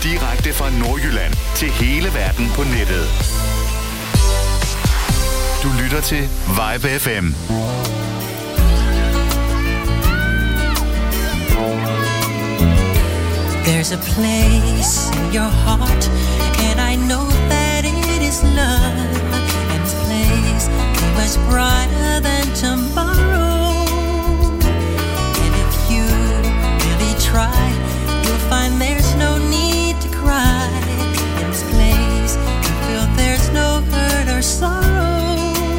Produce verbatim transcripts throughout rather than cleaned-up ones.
Direkte fra Nordjylland til hele verden på nettet. Du lytter til Vibe F M. There's a place in your heart, and I know that it is love. And this place is much brighter than tomorrow. And if you really try, you'll find there's no need to cry. In this place, you feel there's no hurt or sorrow.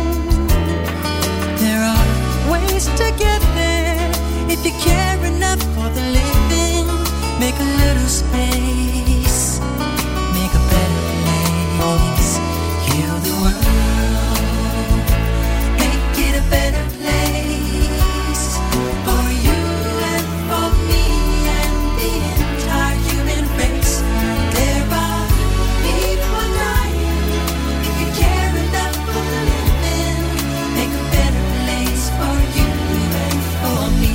There are ways to get there if you care enough for the living. Make a little space, make a better place, heal the world, make it a better place, for you and for me and the entire human race. There are people dying, if you care enough for the living, make a better place for you and for me.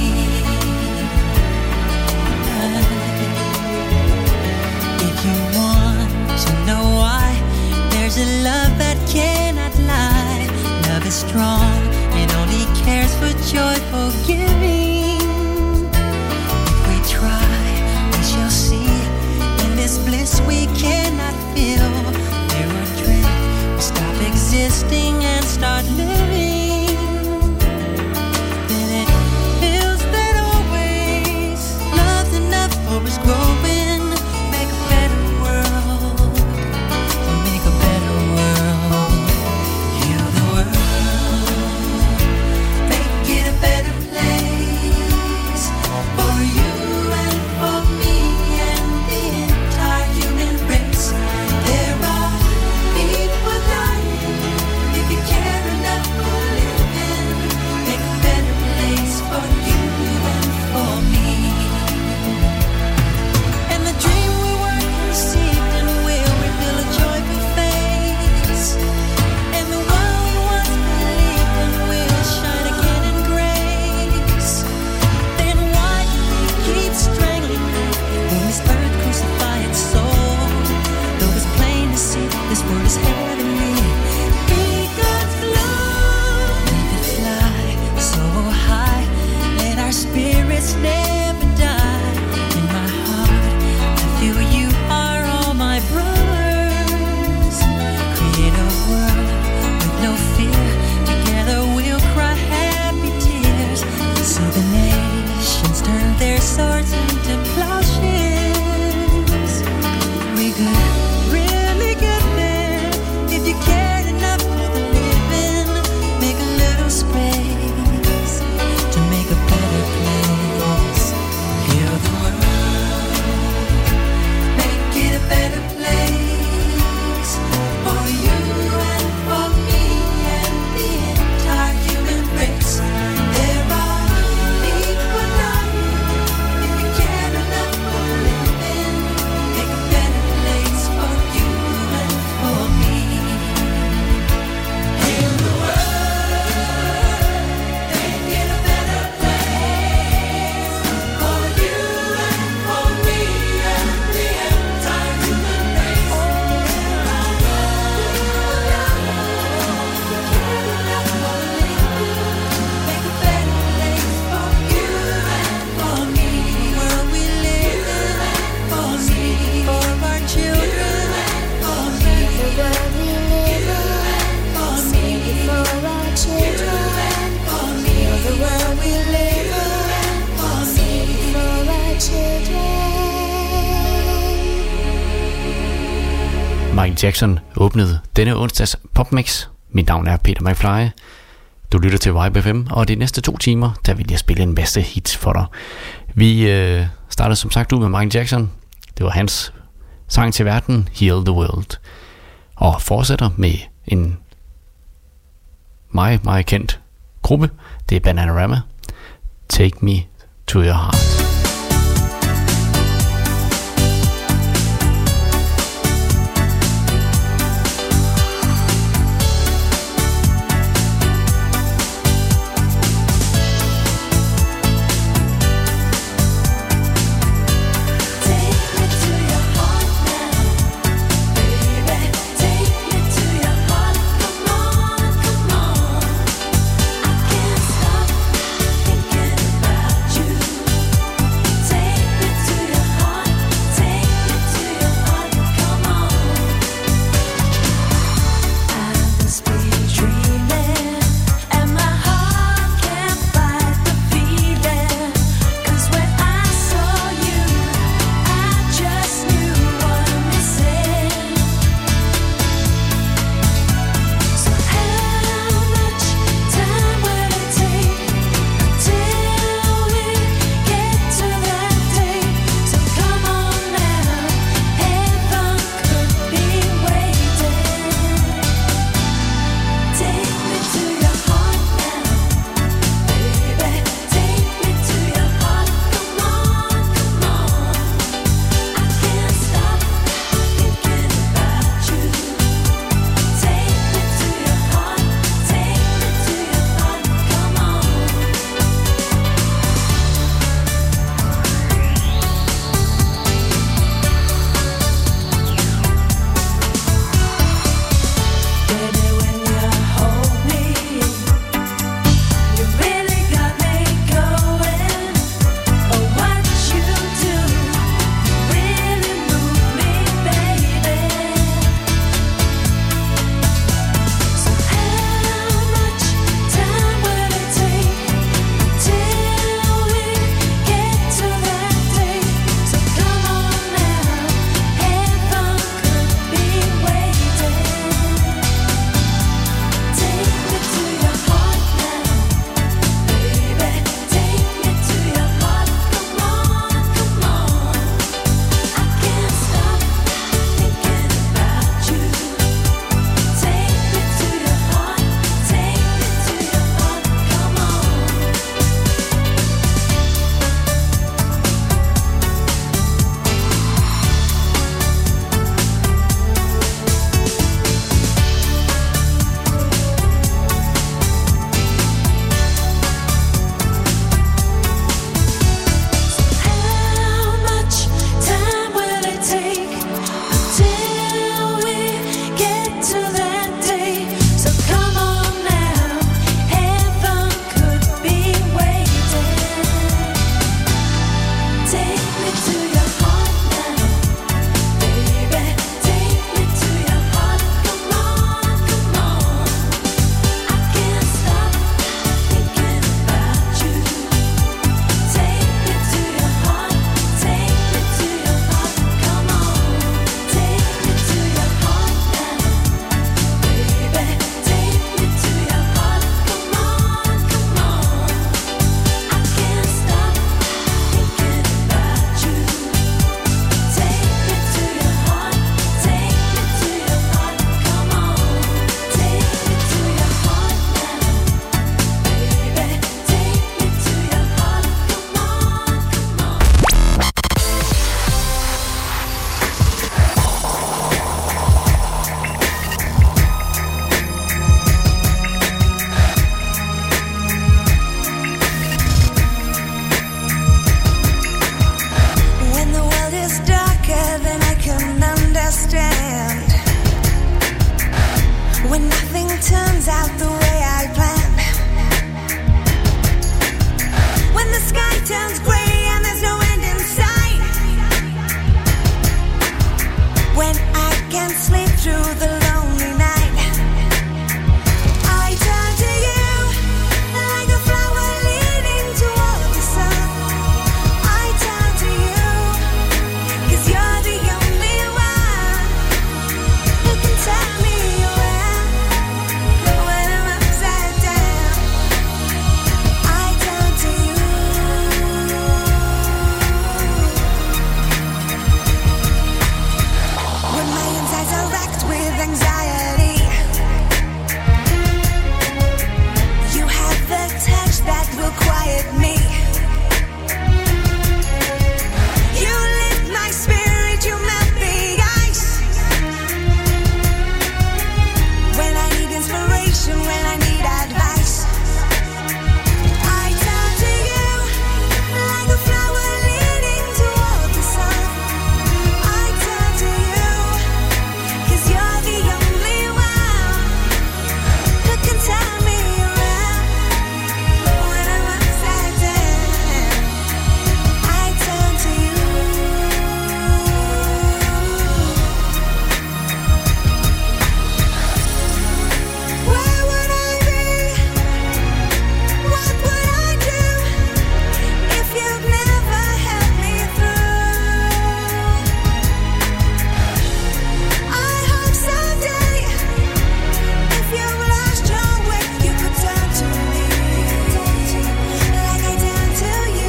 There's a love that cannot lie. Love is strong, it only cares for joyful giving. If we try, we shall see. In this bliss we cannot feel. There are dreams, we stop existing and start living. Then it feels that always love's enough for us growing. Make a better world. Make a better world. Heal the world. Make it a better place for you and for me and the entire human race. There are people dying. If you care enough for living, make a better place for you and for me. And the dream we work received and will reveal a joyful face. And the one we once believed and will shine again in grace. Then why do we keep strangling when this earth crucify its soul? Though it's plain to see this world is heavenly. Eagles fly, we could fly so high. Let our spirits never die. In my heart, I feel you are all my brothers. Create a world with no fear. Together we'll cry happy tears. So the nations turn their swords into plowshares. We could really get there if you cared enough for the living. Make a little space to make a better place. Heal the world, make it a better place for you and for me and the entire human race. There are people dying. If you care enough for living, make a better place for you and for me. Heal the world, make it a better place for you and for me and the entire human race. There are make a better place for you and for me. World we live in for me, for our children for me. The world we live in for me, for our children for me. The world we live in for me, for our children. Michael Jackson åbnede denne onsdags popmix. Mit navn er Peter McFly. Du lytter til Vibe F M, og de næste to timer, der vil jeg spille en masse hits for dig. Vi øh, startede som sagt ud med Michael Jackson. Det var hans sang til verden, Heal the World. Og fortsætter med en meget, meget kendt gruppe. Det er Bananarama. Take Me to Your Heart. Take me to your heart when nothing turns out the way I planned. When the sky turns grey and there's no end in sight. When I can't sleep through the lonely night. I turn to you like a flower leading toward the sun. I turn to you 'cause you're the only one who can tell me around when I'm upside down. I turn to you. When my insides are racked with anxiety, you have the touch that will quiet me. You lift my spirit, you melt the ice. When I need inspiration, when I need advice, I turn to you like a flower leading toward the sun. I turn to you 'cause you're the only one who can tell me around when I'm upside down. I turn to you. Where would I be? What would I do if you've never helped me through? I hope someday, if you've lost your way, you could turn to me like I turn to you.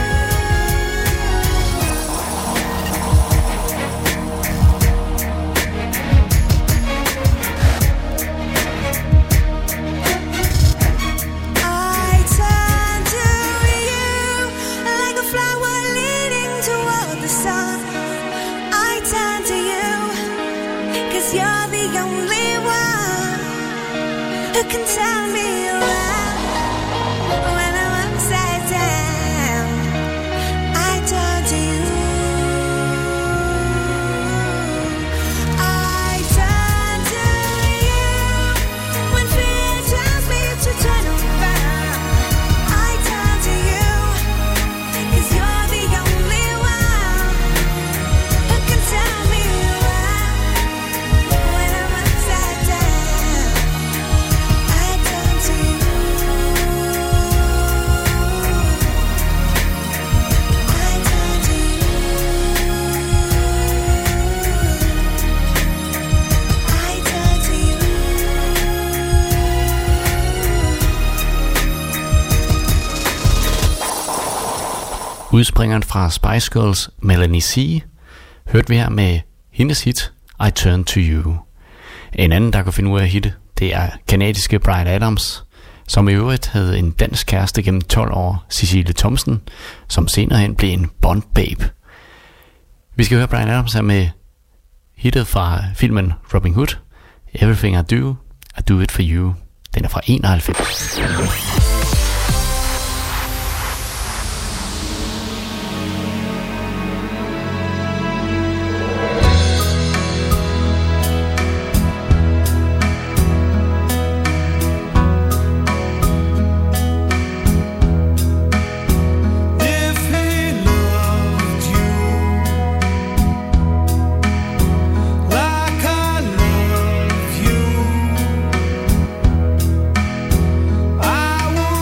I turn to you like a flower leading toward the sun. I turn to you 'cause you're the only one who can tell me around when I'm upside down. I turn to you. I turn to you when fear tells me to turn around. I turn to you 'cause you're the only one who can tell me around when I'm upside down. I turn to you. I turn to you. I turn to you. Udspringeren fra Spice Girls, Melanie C, hørte vi her med hendes hit I Turn To You. En anden, der kan finde ud af at hitte, det er kanadiske Bryan Adams, som i øvrigt havde en dansk kæreste gennem tolv år, Cecilie Thomsen, som senere hen blev en Bond-babe. Vi skal høre Bryan Adams her med hittet fra filmen Robin Hood, Everything I Do, I Do It For You. Den er fra enoghalvfems. If he loved you like I love you, I would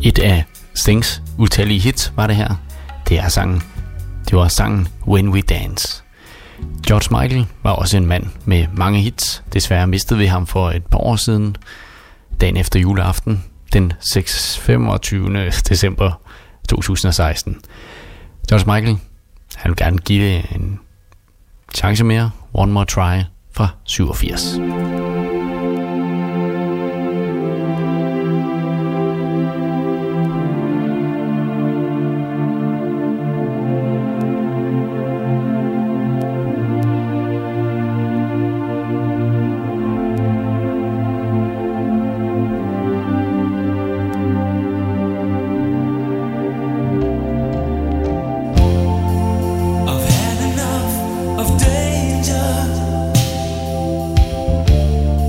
Et af Stings utallige hits var det her. Det er sangen. Det var sangen When We Dance. George Michael var også en mand med mange hits. Desværre mistede vi ham for et par år siden, dagen efter juleaften, den femogtyvende december to tusind og seksten. George Michael, han vil gerne give det en chance mere. One More Try fra syvogfirs. I've had enough of danger.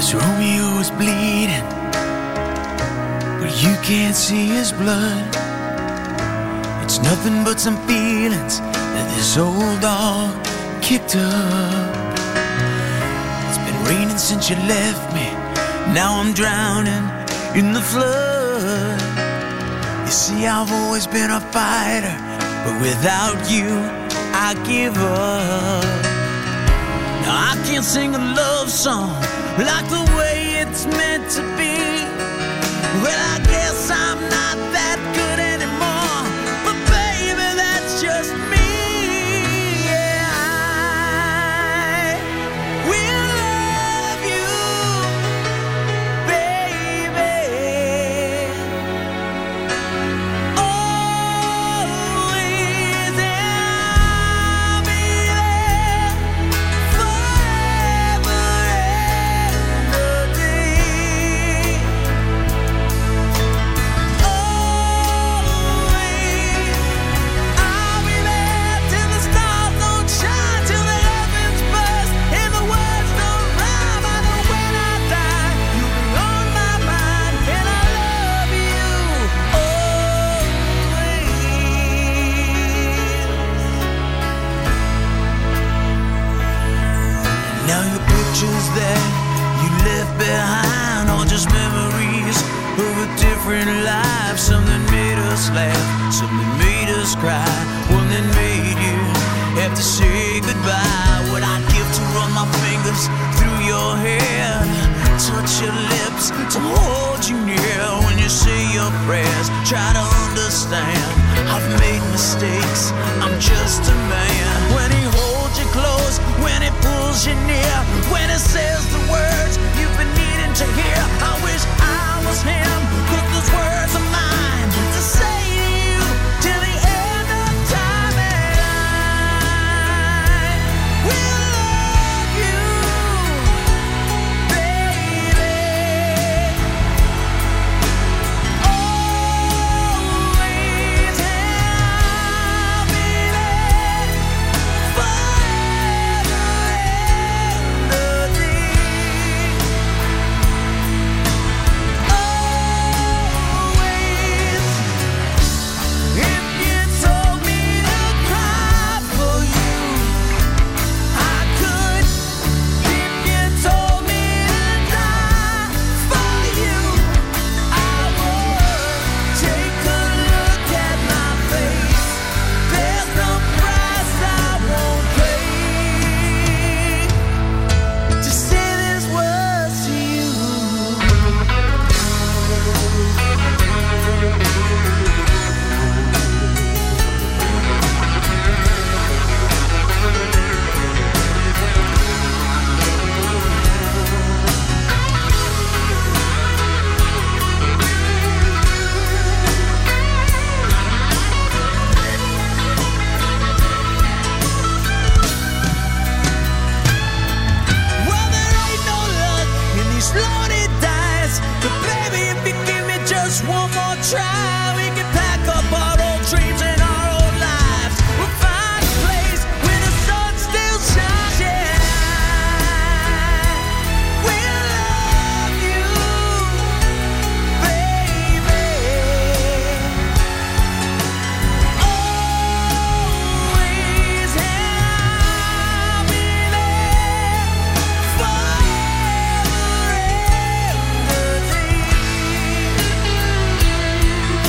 'cause Romeo is bleeding, but you can't see his blood. It's nothing but some feelings that this old dog kicked up. It's been raining since you left me, now I'm drowning in the flood. You see, I've always been a fighter, but without you, I give up. Now I can't sing a love song like the way it's meant to be. Well, I guess I'm not that good anymore, but baby, that's just me. Yeah, I will love you, baby. Always, I'll be there forever and a day. Always, I'll be there till the stars don't shine, till the heavens burst and the words don't rhyme. I know when I die, you'll be on my mind, and I love you always. Now your pictures that you left behind are just memories of a different life. Some that made us laugh, some that made us cry, one that made you have to say goodbye. What I'd give to run my fingers through your hair, touch your lips, to hold you near when you say your prayers. Try to understand, I've made mistakes, I'm just a man. When he holds you close, when he pulls you near, when he says the words you've been needing to hear, I wish I was him, 'cause those words are mine to say to you till the end of time. And I will love you, baby. Always, I'll be there forever and a day. Always, if you told me to cry for you, I could. If you told me to die for you, I would. Take a look at my face, there's no price I won't pay to say these words to you. Well, there ain't no luck in these loaded dice, but baby, if you give me just one more try, we can pack up our old dreams and our old lives. We'll find a place where the sun still shines. Yeah, we'll love you, baby. Always, I'll be there forever and a day.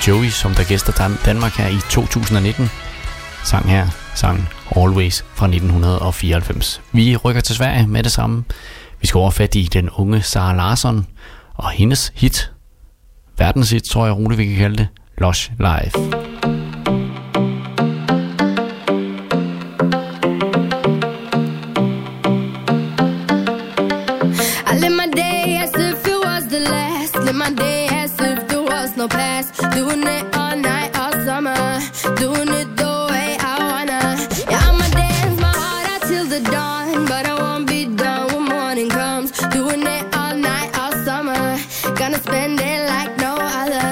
Joey, som der gæster Dan- Danmark her i to tusind nitten. Sang her, sang Always fra nitten fireoghalvfems. Vi rykker til Sverige med det samme. Vi skal overfat i den unge Sara Larsson og hendes hit, verdenshit tror jeg roligt vi kan kalde det, Lush Life. I live my day as if it was the last. Live my day as if there was no past. Doing it all night, all summer. Doing it the way I wanna. Yeah, I'ma dance my heart out till the dawn, but I won't be done when morning comes. Doing it all night, all summer. Gonna spend it like no other.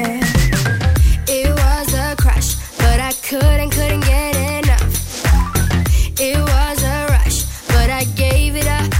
It was a crush, but I couldn't, couldn't get enough. It was a rush, but I gave it up.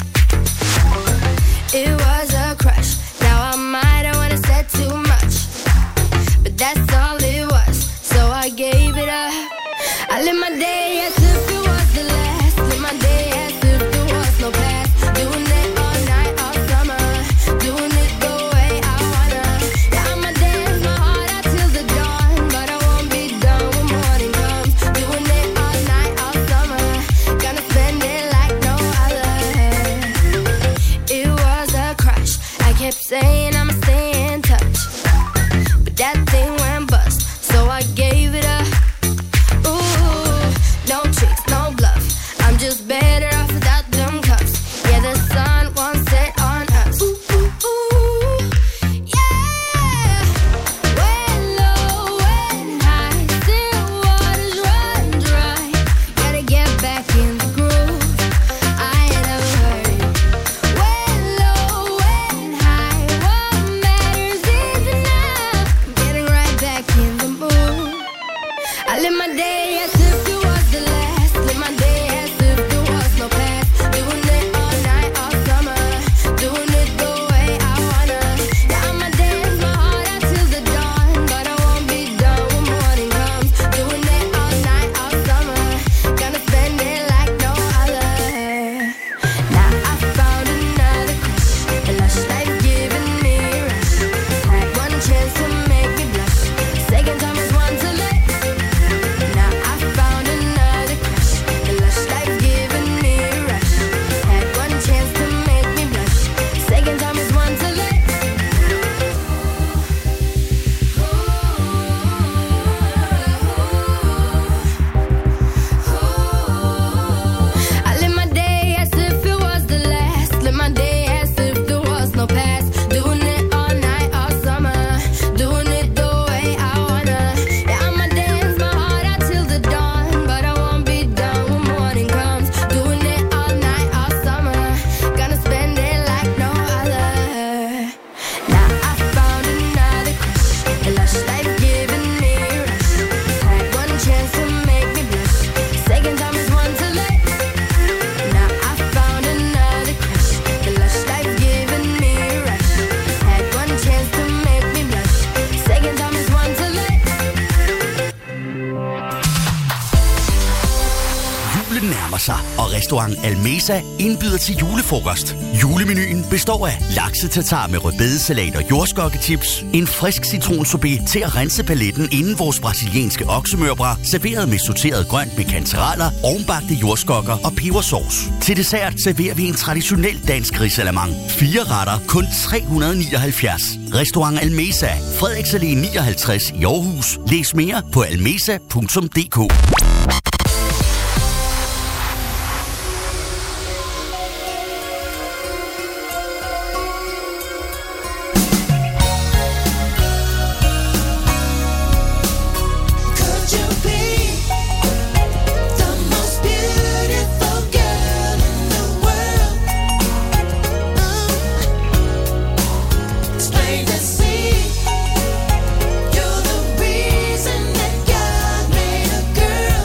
It was a crush. Now I might have wanna said too much, but that's all it was. So I gave it up. I live my day as if it was the last. Live my day as if there was no past. Doing it all night, all summer. Doing it the way I wanna. Yeah, I'ma dance my heart out till the dawn, but I won't be done when morning comes. Doing it all night, all summer. Gonna spend it like no other. It was a crush. I kept saying I'ma stay in touch, but that thing went bust, so I gave it up. Ooh, no tricks, no bluff. I'm just better off without them cuffs. Yeah, the sun won't set on us. Ooh, ooh, ooh, yeah. When low, when high, still waters run dry. Gotta get back in the groove. I ain't never heard it. When low, when high, what matters is enough. I'm getting right back in the mood. I live my day as if it was the last. Live my day as if there was no past. Doing it all night, all summer. Doing it the way I wanna. Yeah, I'ma dance my heart out till the dawn, but I won't be done when morning comes. Doing it all night, all summer. Gonna spend it like no other. Now I found another crush. A lush life giving me a rush. Had one chance to make me blush. Second time is one to let. Now I found another crush. A lush life giving me a rush. Had one chance to make me blush. Second time is one to let. I live my day as if it was the last. Live my day as if there was no past. Doing it all night, all summer. Doing it the way I wanna. Yeah, I'ma dance my heart out till the dawn, but I won't be done when morning comes. Doing it all night, all summer. Gonna spend it like no other. Now I found another crush. A lush life giving me a rush. Had one chance to make me blush. Second time is one to let. Now I found another crush. The lush life giving me a rush. Had one chance to make me blush. Second time is one to let. Julen nærmer sig, og restaurant Almesa indbyder til julefrokost. Julemenuen består af lakse-tartar med rødbedesalat og jordskokkechips, en frisk citronsorbet til at rense paletten inden vores brasilianske oksemørbrad, serveret med sorteret grønt med kantereller, ovenbagte jordskokker og pebersauce. Til dessert serverer vi en traditionel dansk risalamande. Fire retter, kun tre hundrede nioghalvfjerds. Restaurant Almesa, Frederiks Allé nioghalvtreds i Aarhus. Læs mere på almesa punktum d k. Could you be the most beautiful girl in the world? It's plain to see you're the reason that God made a girl.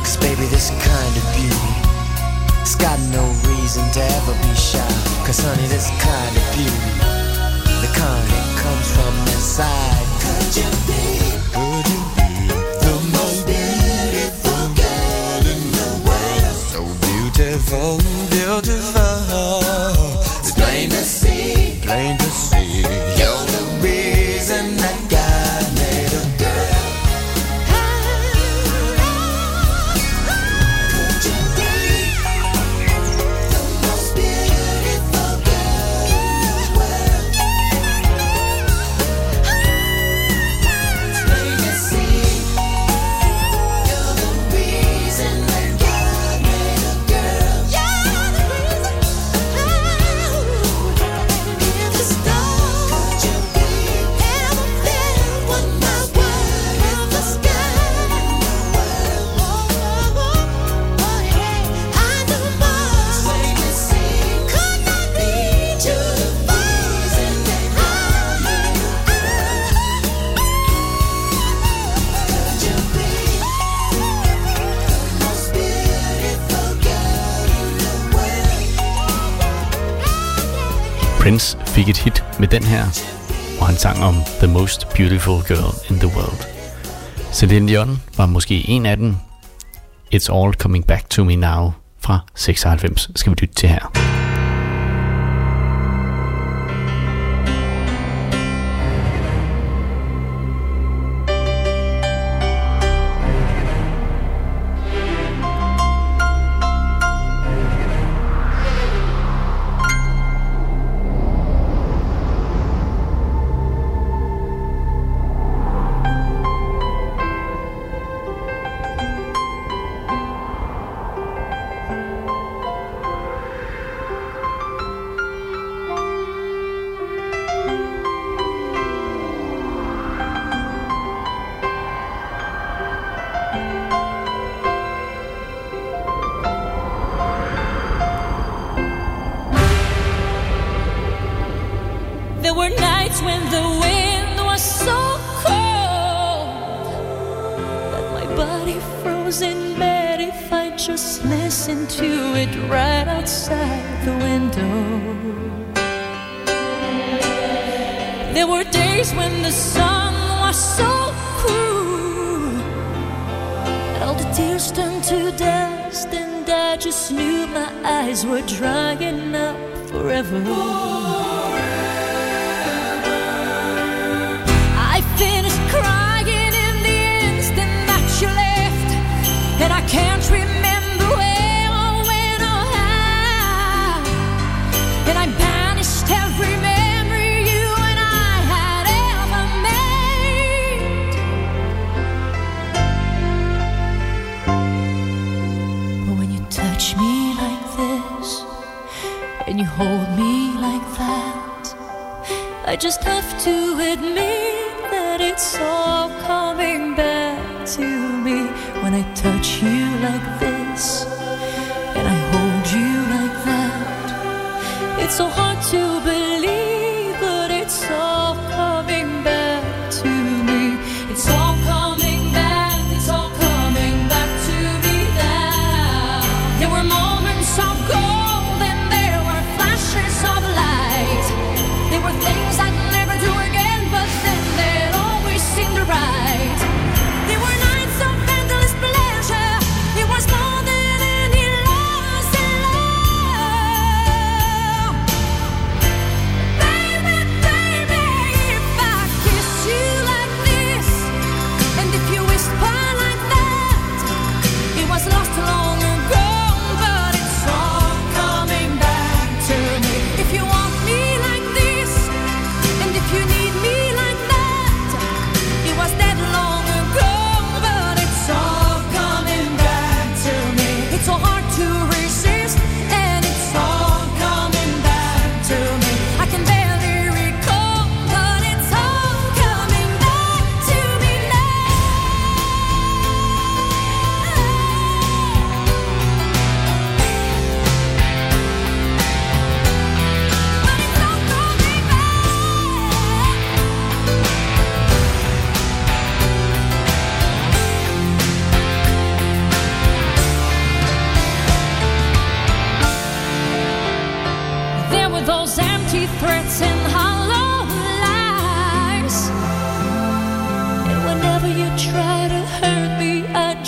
'Cause baby, this kind of beauty, it's got no reason to ever be shy. 'Cause honey, this kind of beauty, the kind that comes from inside. Could you be, could you be the most beautiful girl in the world? So beautiful, beautiful. It's plain to see, plain to see. You're the reason that God made a girl. Could you be the most beautiful girl in the world? It's plain to see. You're the reason that God made a girl. You're the reason. In the stars, could you be ever feel what my world in the sky? I know Mars, plain to see. Could not need you to freeze in the heart. Could you be the most beautiful girl in the world? Prince fik et hit med den her, og han sang om The Most Beautiful Girl in the World. Celine Dion var måske en af dem. It's All Coming Back to Me Now fra seksoghalvfems skal vi lytte til her. There were nights when the wind was so cold that my body froze in bed if I just listened to it right outside the window. There were days when the sun was so cruel that all the tears turned to dust, and I just knew my eyes were drying up forever. I finished crying in the instant that you left, and I can't remember where or when or how, and I banished every memory you and I had ever made. But when you touch me like this, and you hold me like that, I just have to admit that it's all coming back to me. When I touch you like this, and I hold you like that, it's so hard to believe, but it's all coming back to me. It's all coming back, it's all coming back to me now. There were moments of gold and there were flashes of light. There were things I'd never do again, but then they'd always seem to right. There were nights of endless pleasure. It was more than any loss in love.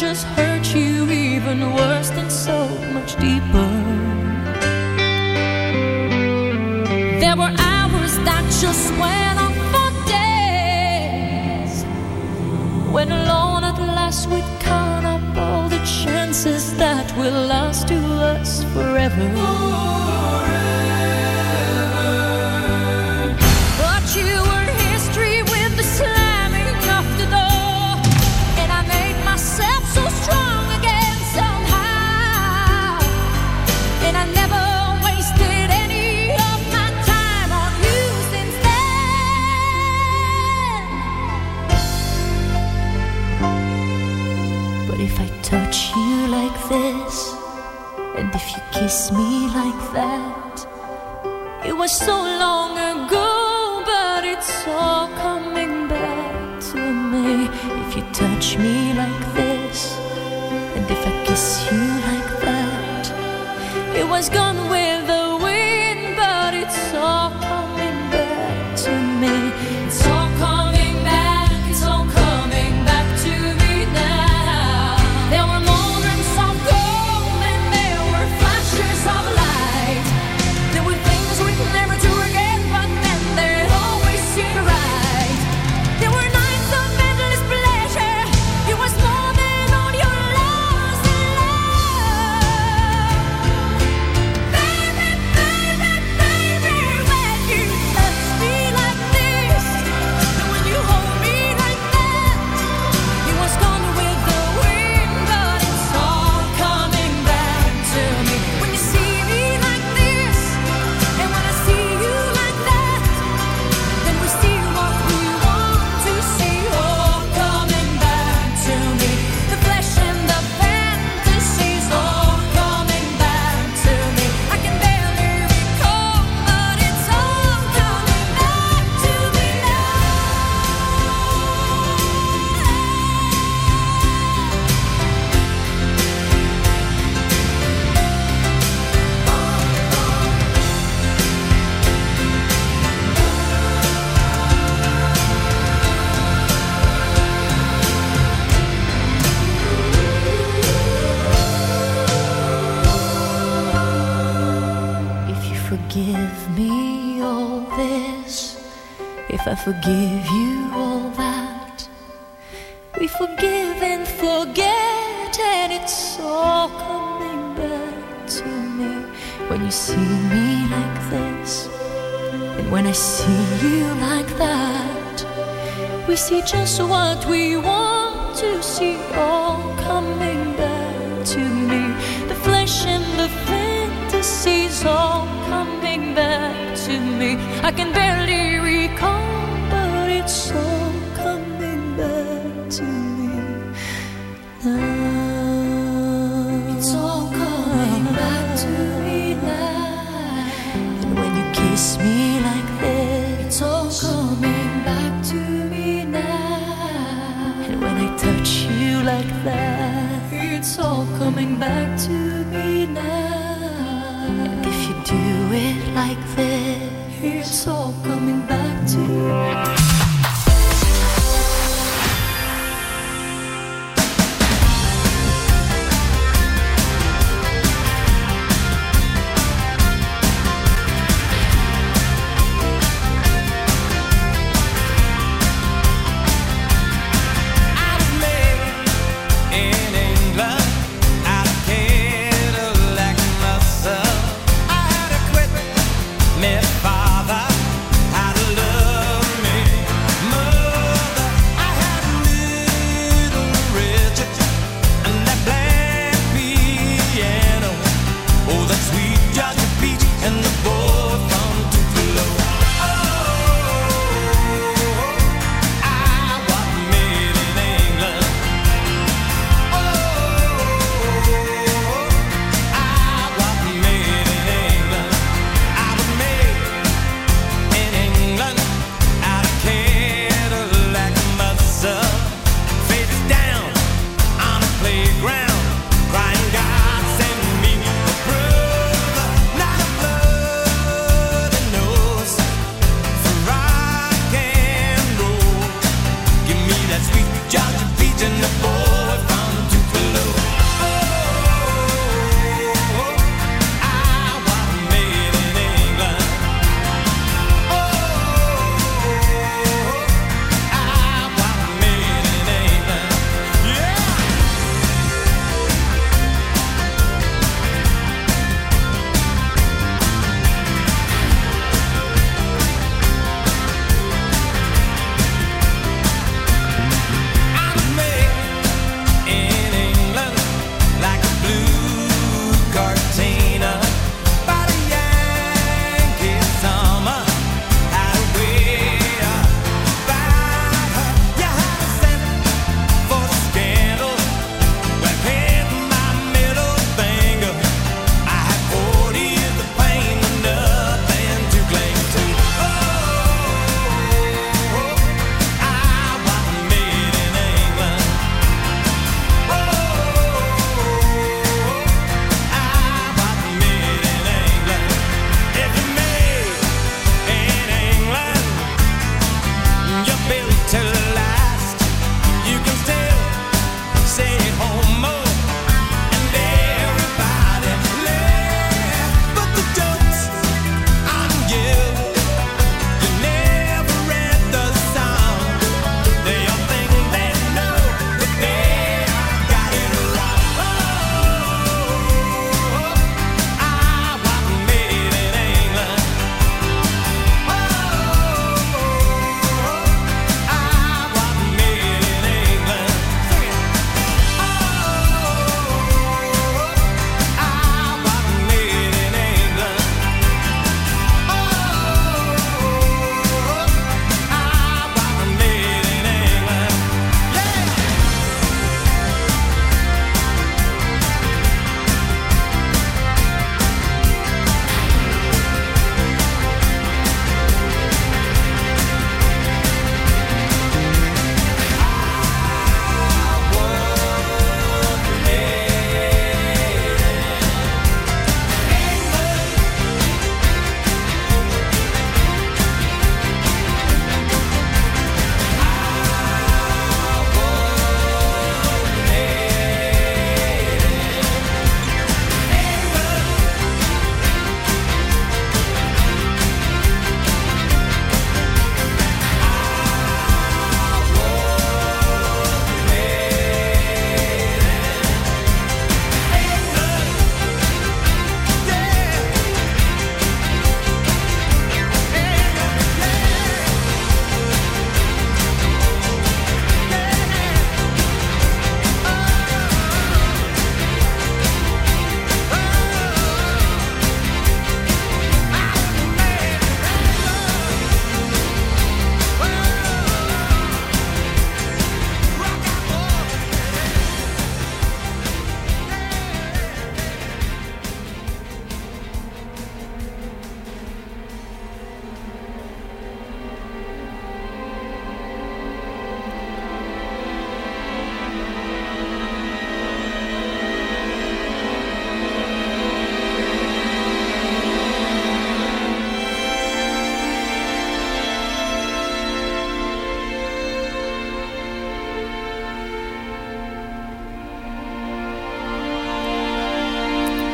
just hurt you even worse than so much deeper. There were hours that just went on for days, when alone at last we'd count up all the chances that will last to us forever. But you were history with the slamming of the door, and I made myself so strong again somehow, and I never wasted any of my time on you since then. But if I touch you like this, and if you kiss me like that, it was so long ago, but it's all coming back to me. If you touch me like this, and if I kiss you like that, it was gone with the wind, but it's all coming back to me. It's all coming back, it's all coming back to me now. There were moments of gold and there were flashes of light. There were things we'd never do again, but then there always seemed right. There were nights of endless pleasure. It was more than all your lost in love. Baby, baby, baby, when you touch me like this, and when you hold me like that, it was gone with the wind, but it's all coming back to me. When you see me like this, and when I see you like that, then we see what we want to see, all coming back to me. The flesh and the fantasies, all coming back to me. I can barely recall, but it's all coming back to me If you forgive me all this, if I forgive you all that, we forgive and forget, and it's all coming back to me. When you see me like this, and when I see you like that, we see just what we want to see, all coming back to me. The flesh and the fantasies, all coming back to me. I can barely recall, but it's all coming back to me now. It's all coming back to me now. And when you kiss me like this, it's all coming back to me now. And when I touch you like that, it's all coming back to me now. And if you do it like this, it's all coming back to me. I was made in England out of Cadillac muscle. I had to quit. My father had to love me.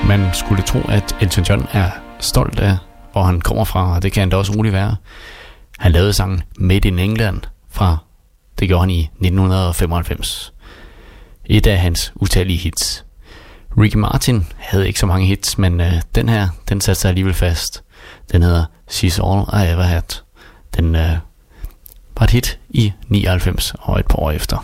Man skulle tro, at Elton John er stolt af, hvor han kommer fra, og det kan han da også roligt være. Han lavede sangen Made in England fra, det gjorde han i nitten femoghalvfems. Et af hans utallige hits. Ricky Martin havde ikke så mange hits, men øh, den her, den satte sig alligevel fast. Den hedder She's All I Ever Had. Den øh, var et hit i nioghalvfems og et par år efter.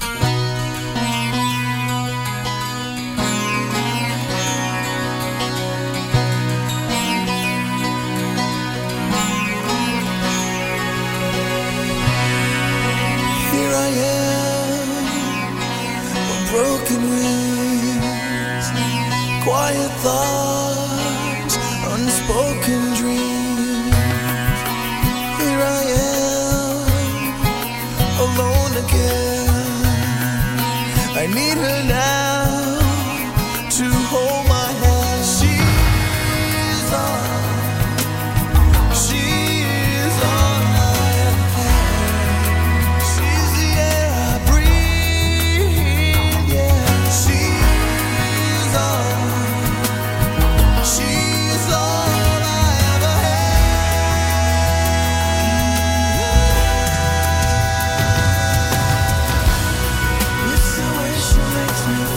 Quiet thoughts, unspoken dreams. Here I am, alone again. I need her now to hold my hand. She's all, she's all I ever had. She's the air I breathe, yeah. She's all. She's all I ever had. It's the way she makes me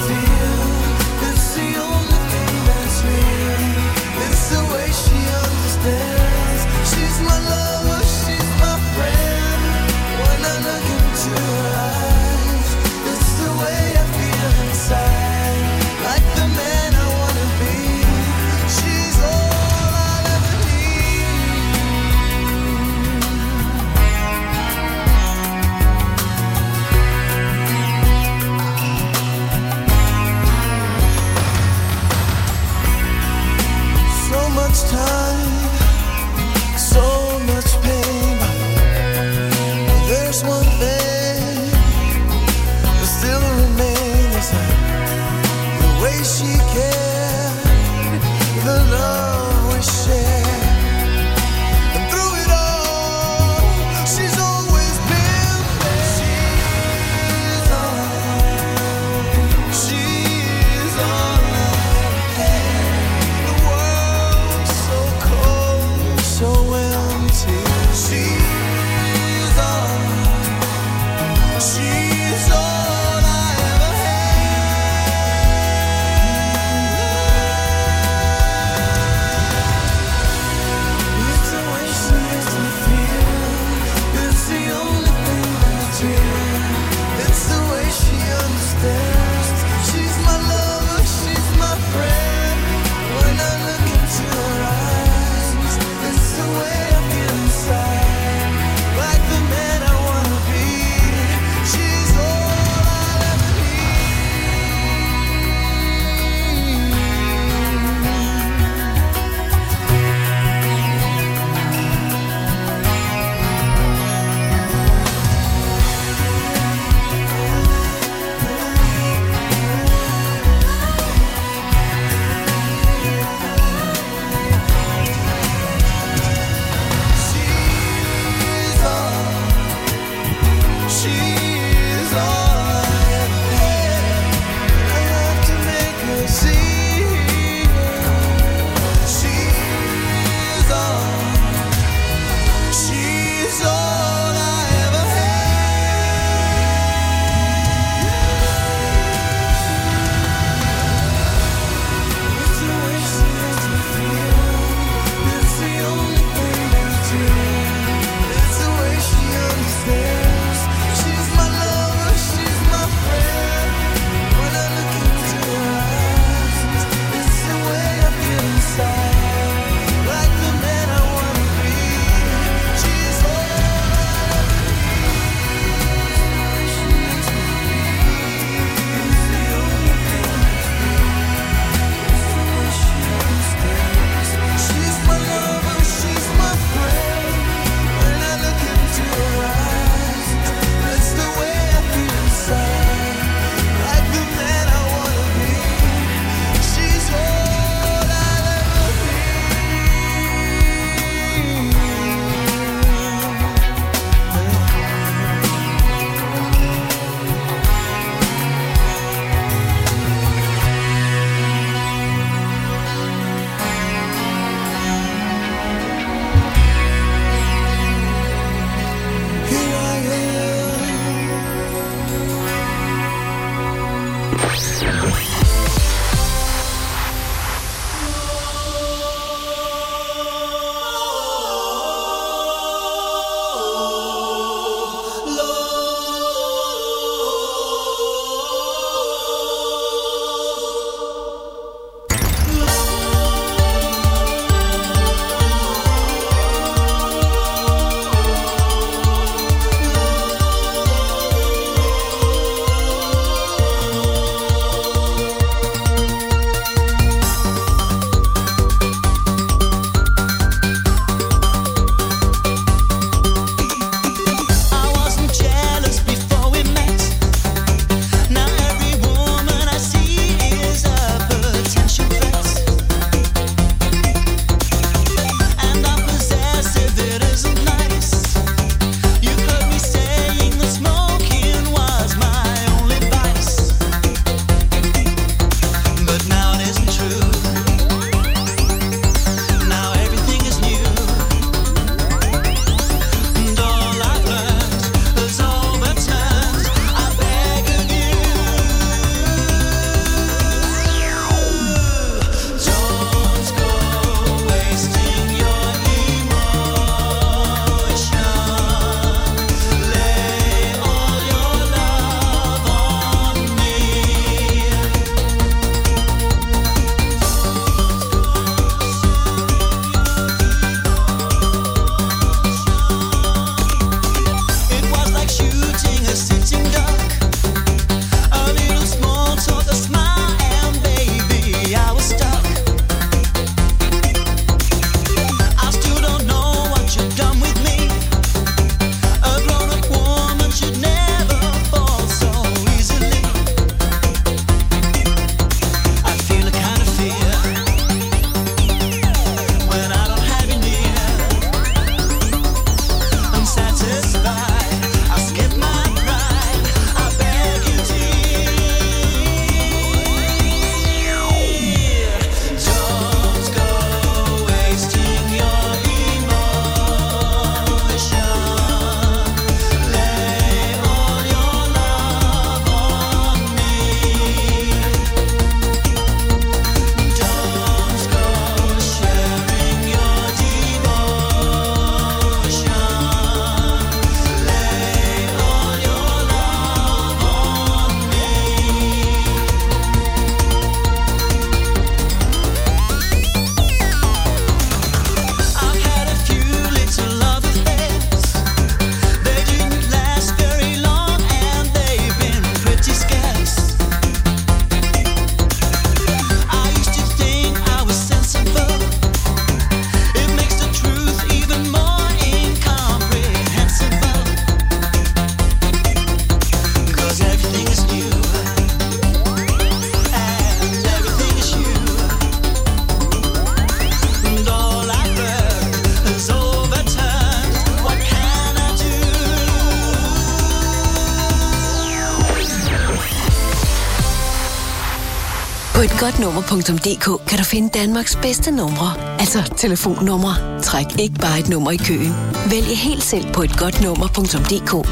På et godt nummer punktum d k kan du finde Danmarks bedste numre, altså telefonnumre. Træk ikke bare et nummer i køen. Vælg helt selv på et godt nummer punktum d k.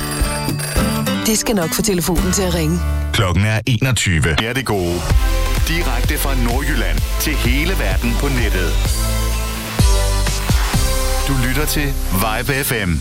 Det skal nok få telefonen til at ringe. Klokken er enogtyve. Er det gode. Direkte fra Nordjylland til hele verden på nettet. Du lytter til Vibe F M.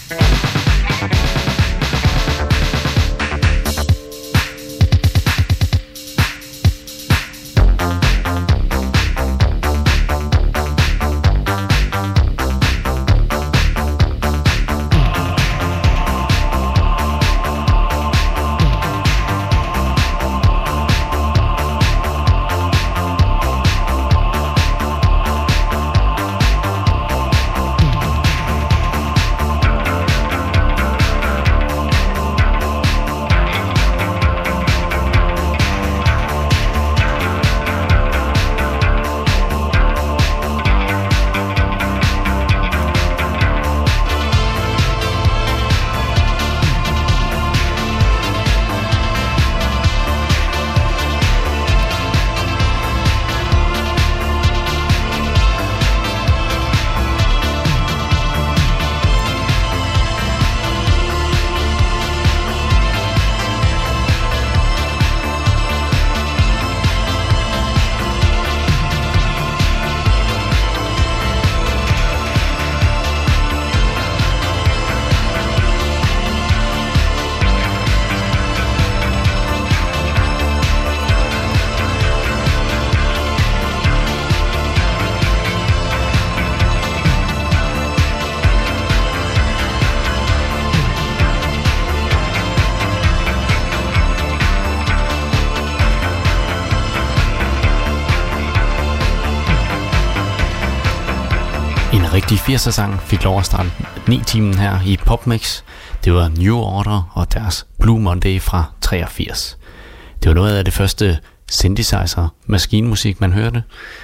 En rigtig firser-sang fik lov at starte ni timen her i PopMix. Det var New Order og deres Blue Monday fra treogfirs. Det var noget af det første synthesizer maskinmusik man hørte,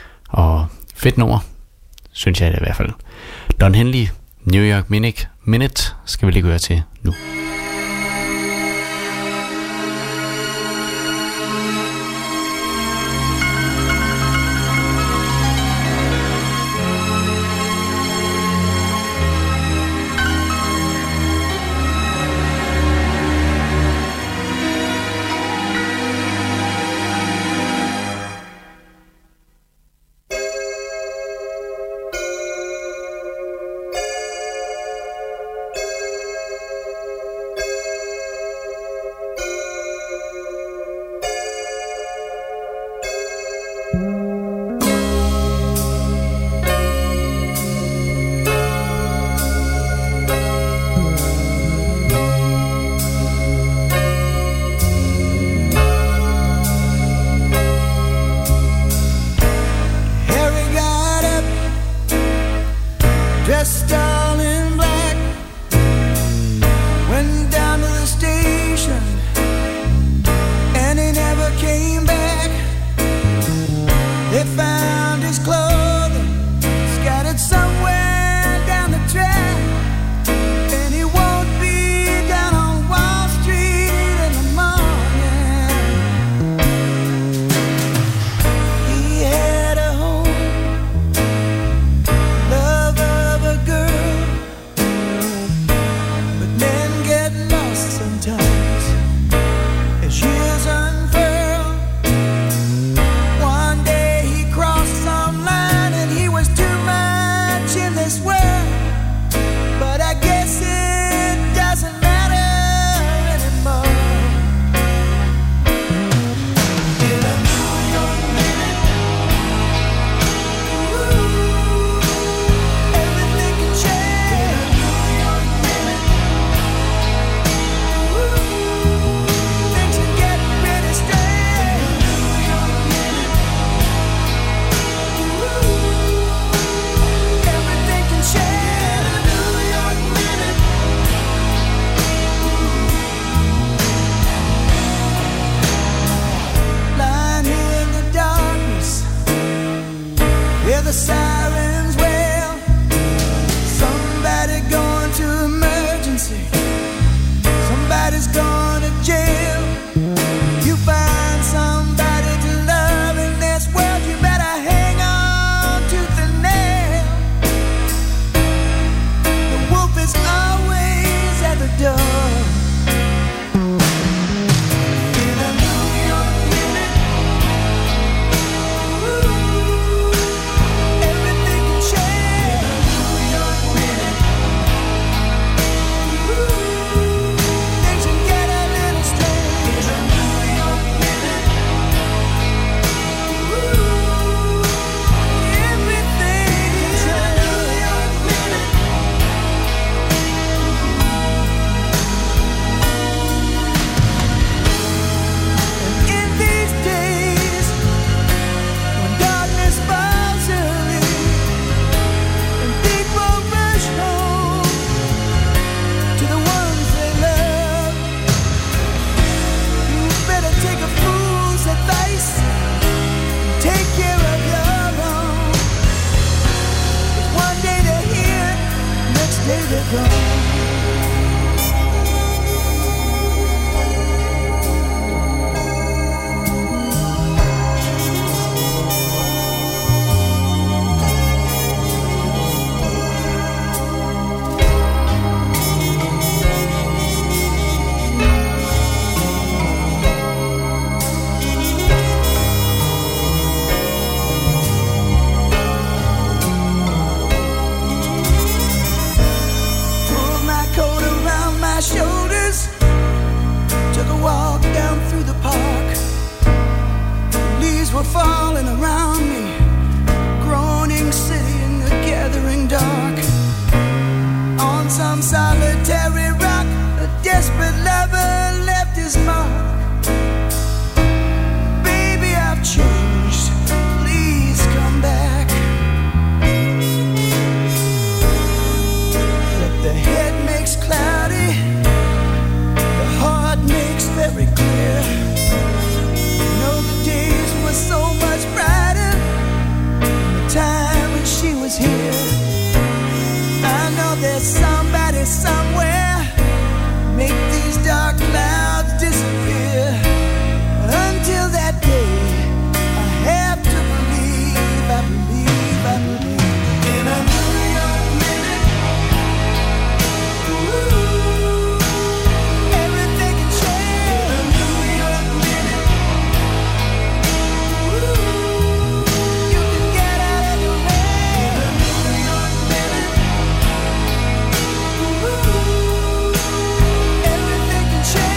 og fedt nummer, synes jeg det i hvert fald. Don Henley, New York Minute, Minute skal vi lige høre til nu. Falling around me, groaning city in the gathering dark. On some solitary rock, a desperate lover left his mark. Baby, I've changed, please come back. But the head makes cloudy, the heart makes very clear. So much brighter the time when she was here. I know there's somebody somewhere make these dark clouds disappear. Until that day, I have to believe, I believe, I believe in a New York minute. Ooh, everything can change in a New York minute. Change.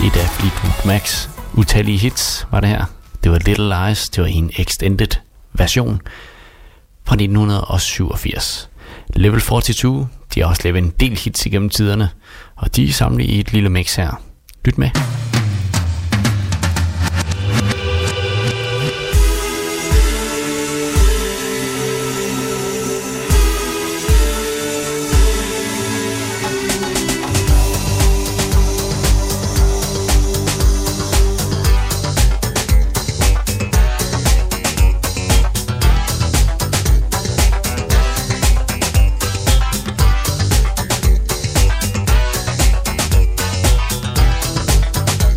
Et af Fleetwood Macs utallige hits var det her. Det var Little Lies, det var en extended version fra nitten syvogfirs. Level fireogfyrre, de har også lavet en del hits igennem tiderne, og de er samlet i et lille mix her. Lyt med. Thank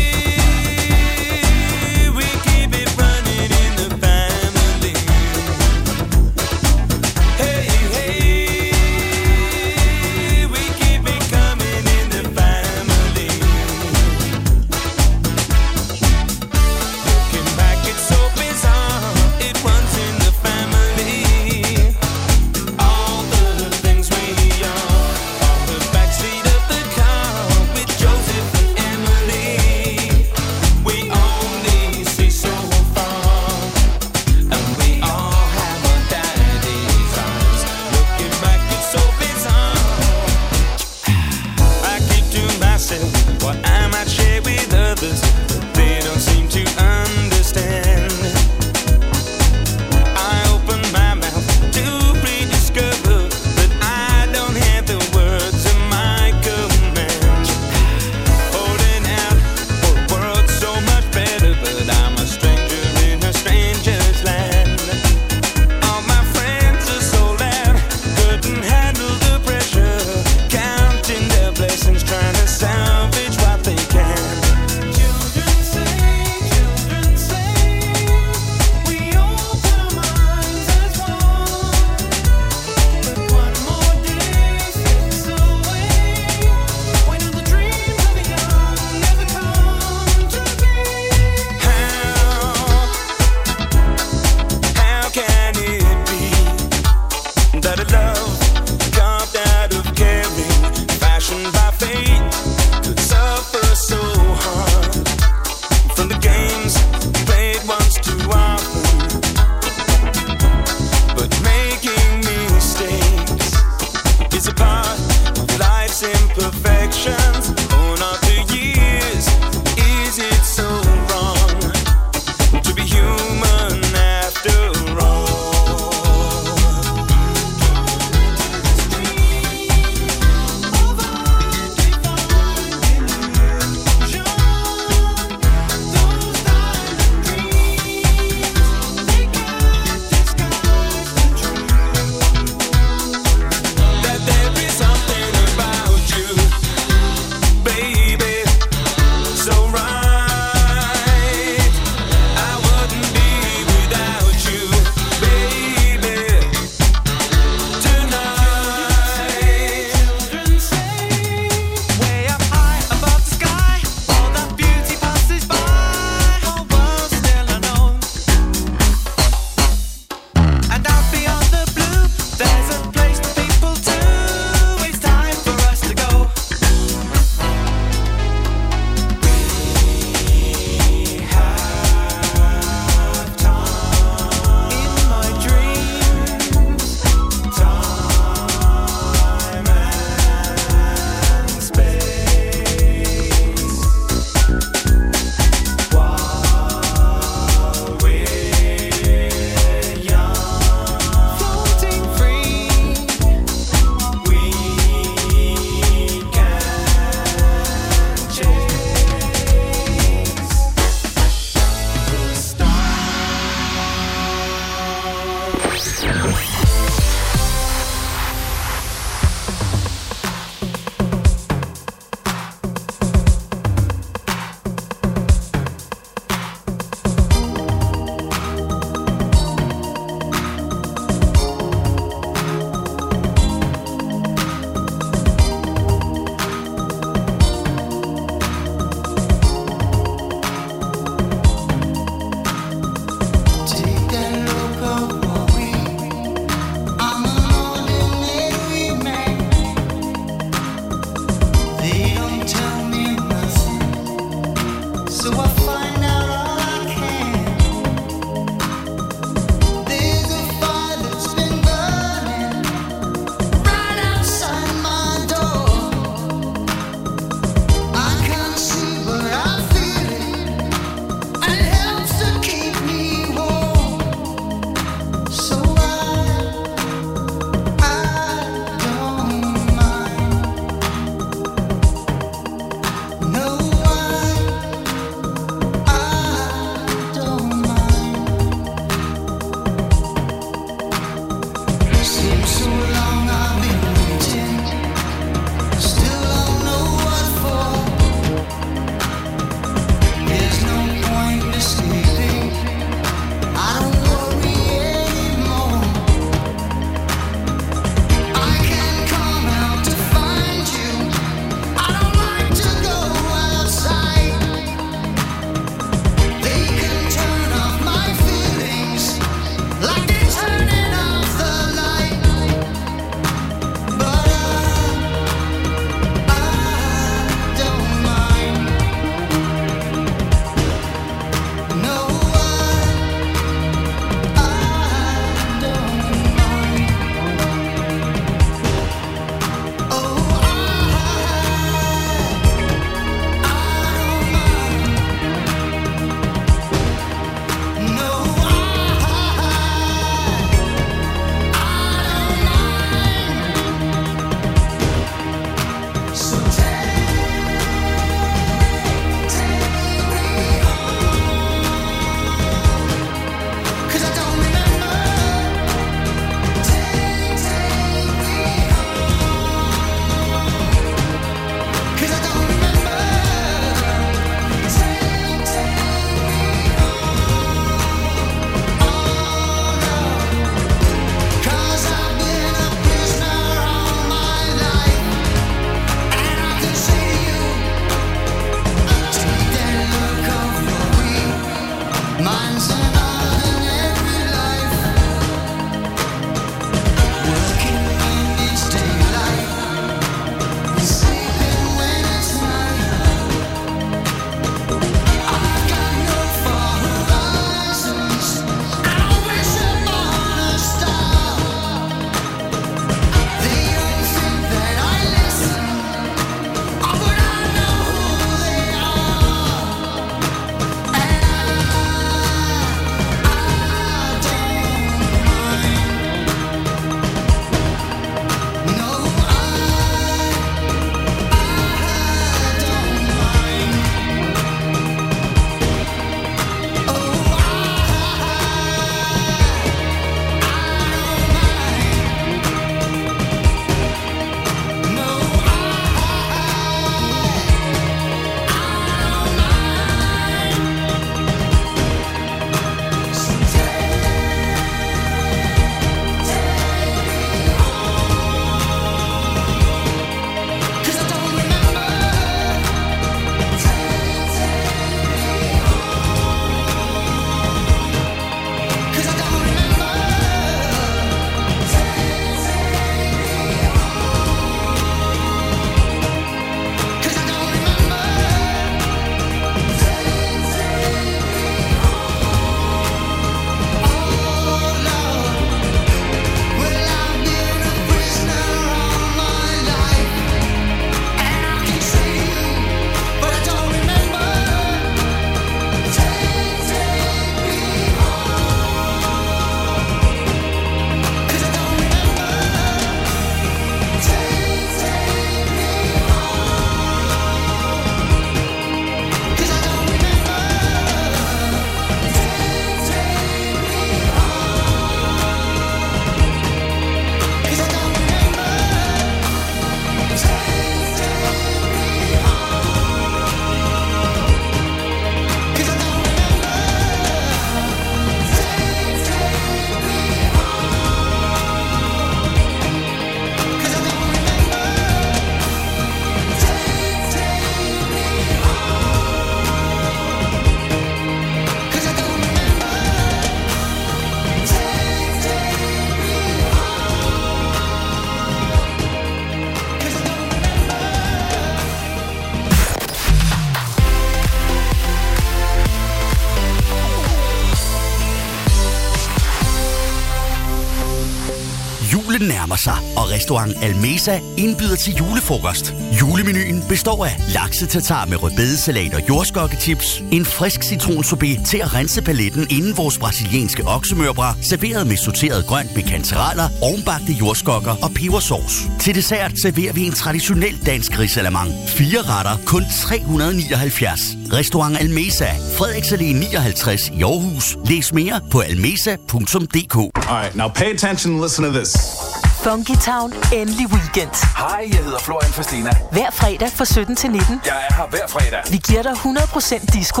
nærmer sig, og restaurant Almesa indbyder til julefrokost. Julemenuen består af lakse-tartar med rødbedesalat og jordskokkechips, en frisk citronsorbet til at rense paletten inden vores brasilianske oksemørbrad, serveret med sorteret grønt med kantereller, ovnbagte jordskokker og pebersauce. Til dessert serverer vi en traditionel dansk risalamande. Fire retter, kun tre hundrede nioghalvfjerds. Restaurant Almesa, Frederiks Allé nioghalvtreds i Aarhus. Læs mere på almesa punktum d k. Alright, now pay attention and listen to this. Funky Town, endelig weekend. Hej, jeg hedder Florian Fastina. Hver fredag fra sytten til nitten. Jeg er her hver fredag. Vi giver dig hundrede procent disco.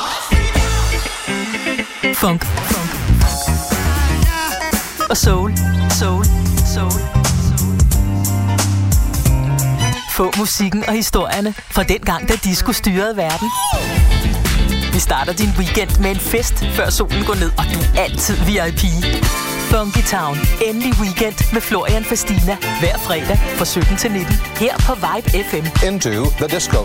Funk. Funk. Og soul. Soul. Soul. Få musikken og historierne fra den gang, da disco styrede verden. Vi starter din weekend med en fest, før solen går ned, og du er altid V I P. Funky Town, endelig weekend med Florian Fastina. Hver fredag fra sytten til nitten. Her på Vibe F M. Into the disco.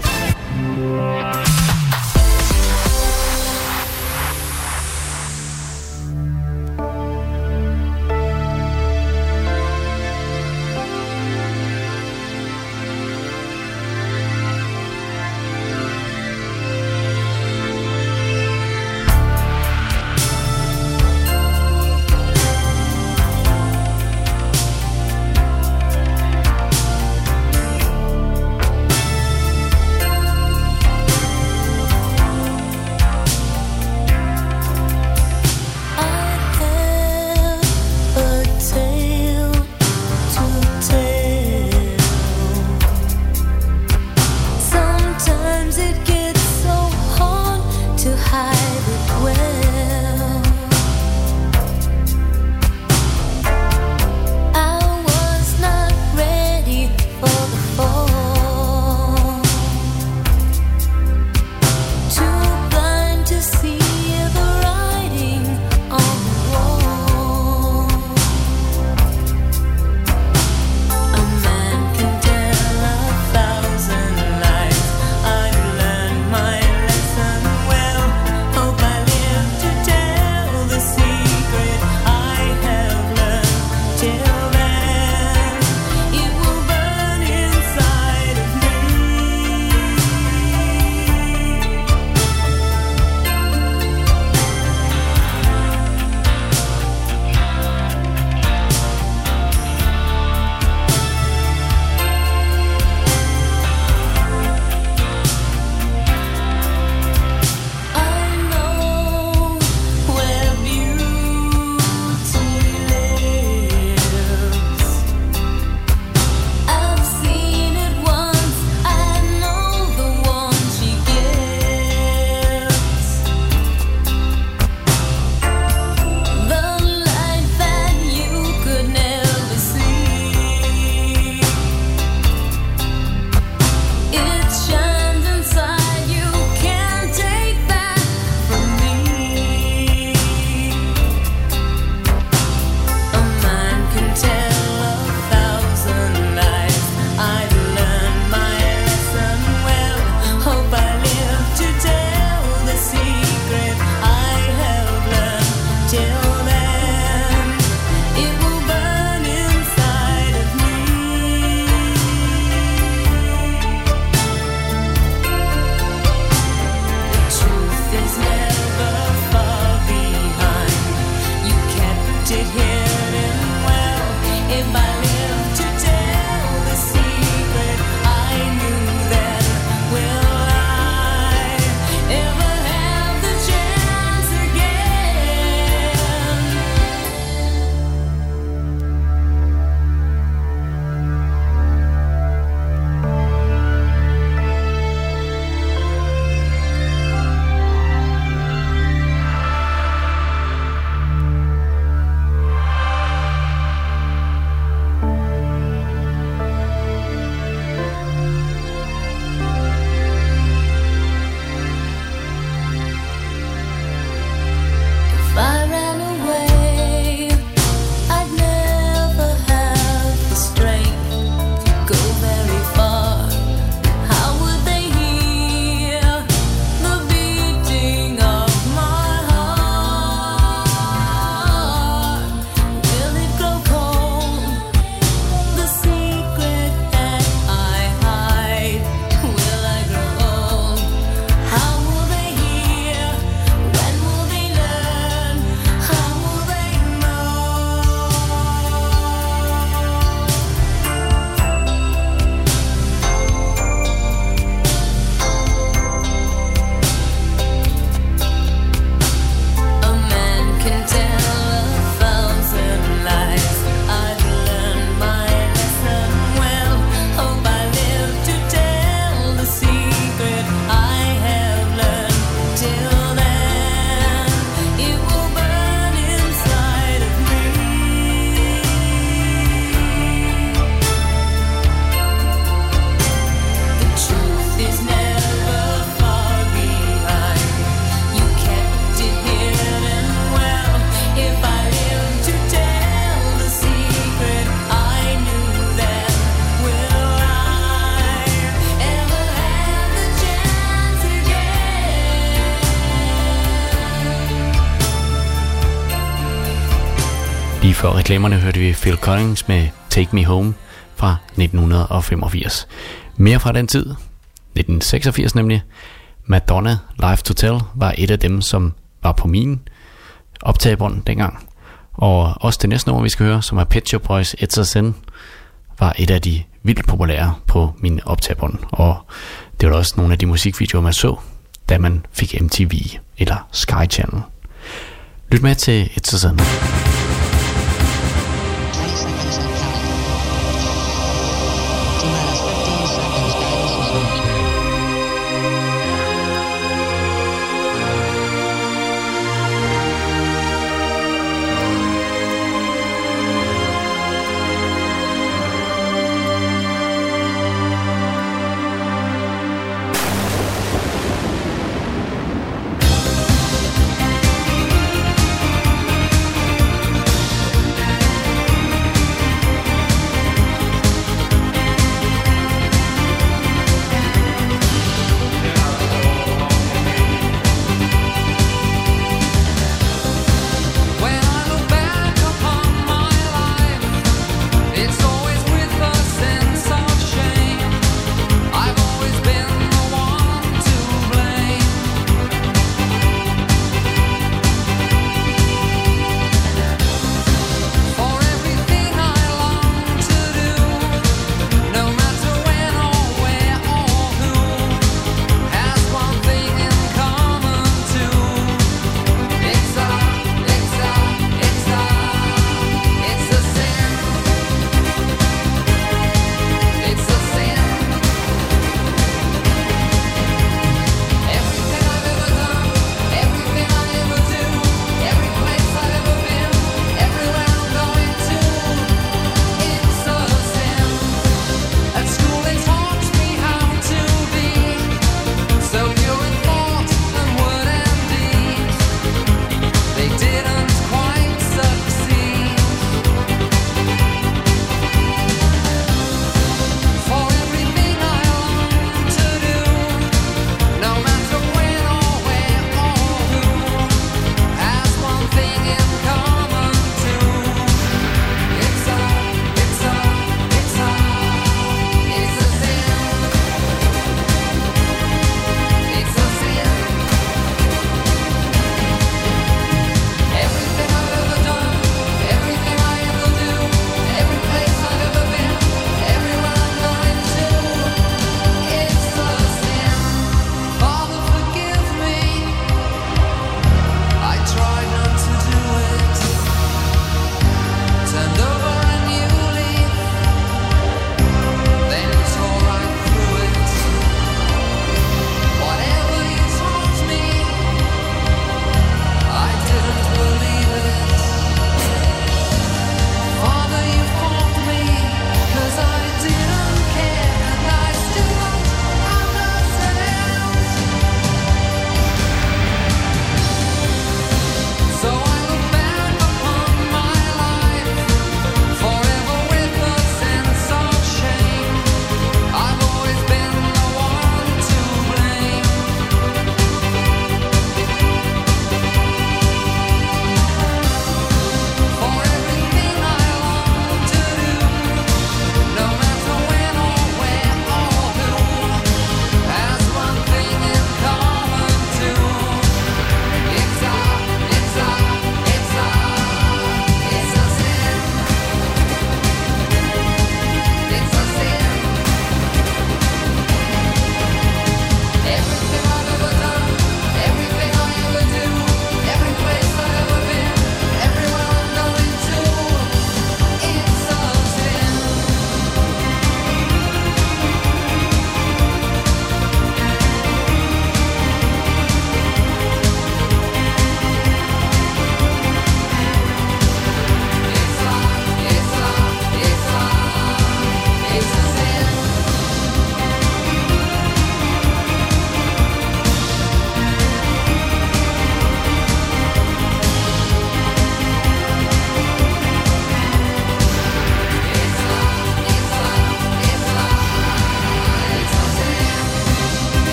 før reklamerne hørte vi Phil Collins med Take Me Home fra nitten femogfirs. Mere fra den tid, nitten seksogfirs nemlig. Madonna, Life to Tell, var et af dem, som var på min optagebånd dengang. Og også det næste nummer, vi skal høre, som er Pet Shop Boys, It's a Sin, var et af de vildt populære på min optagebånd. Og det var også nogle af de musikvideoer, man så, da man fik M T V eller Sky Channel. Lyt med til It's a Sin.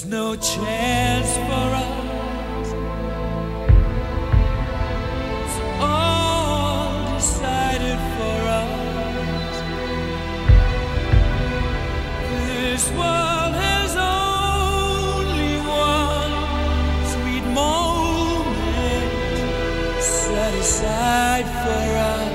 no chance for us. It's all decided for us. This world has only one sweet moment set aside for us.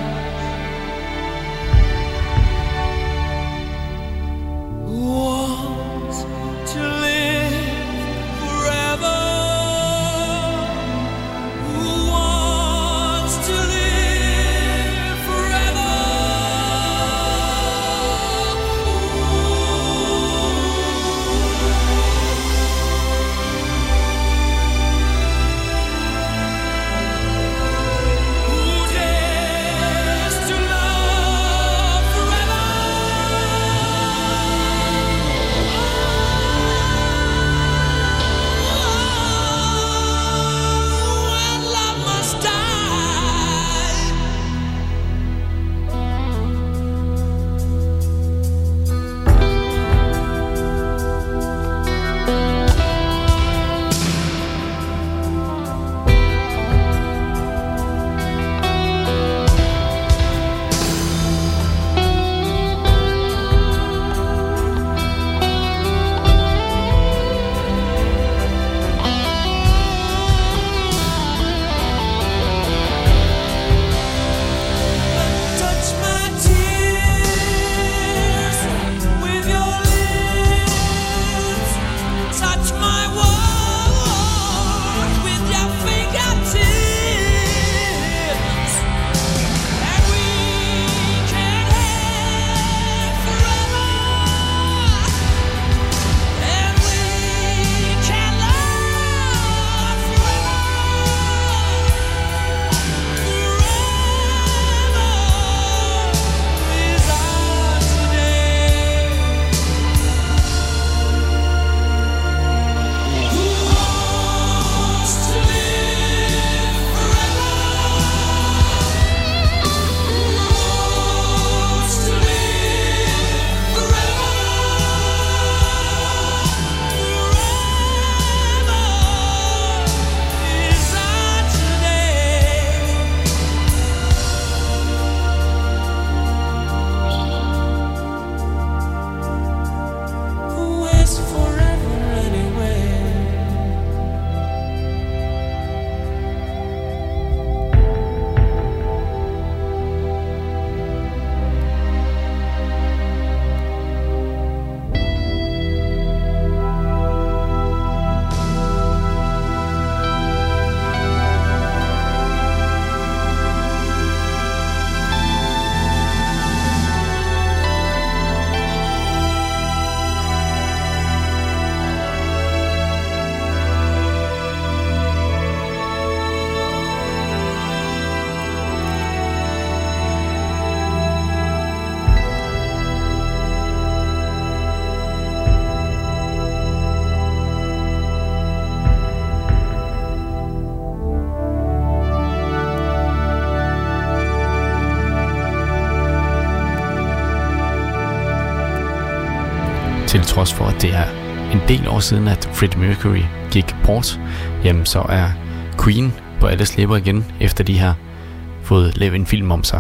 Til trods for, at det er en del år siden, at Freddie Mercury gik bort, jamen så er Queen på alles læber igen, efter de har fået lavet en film om sig.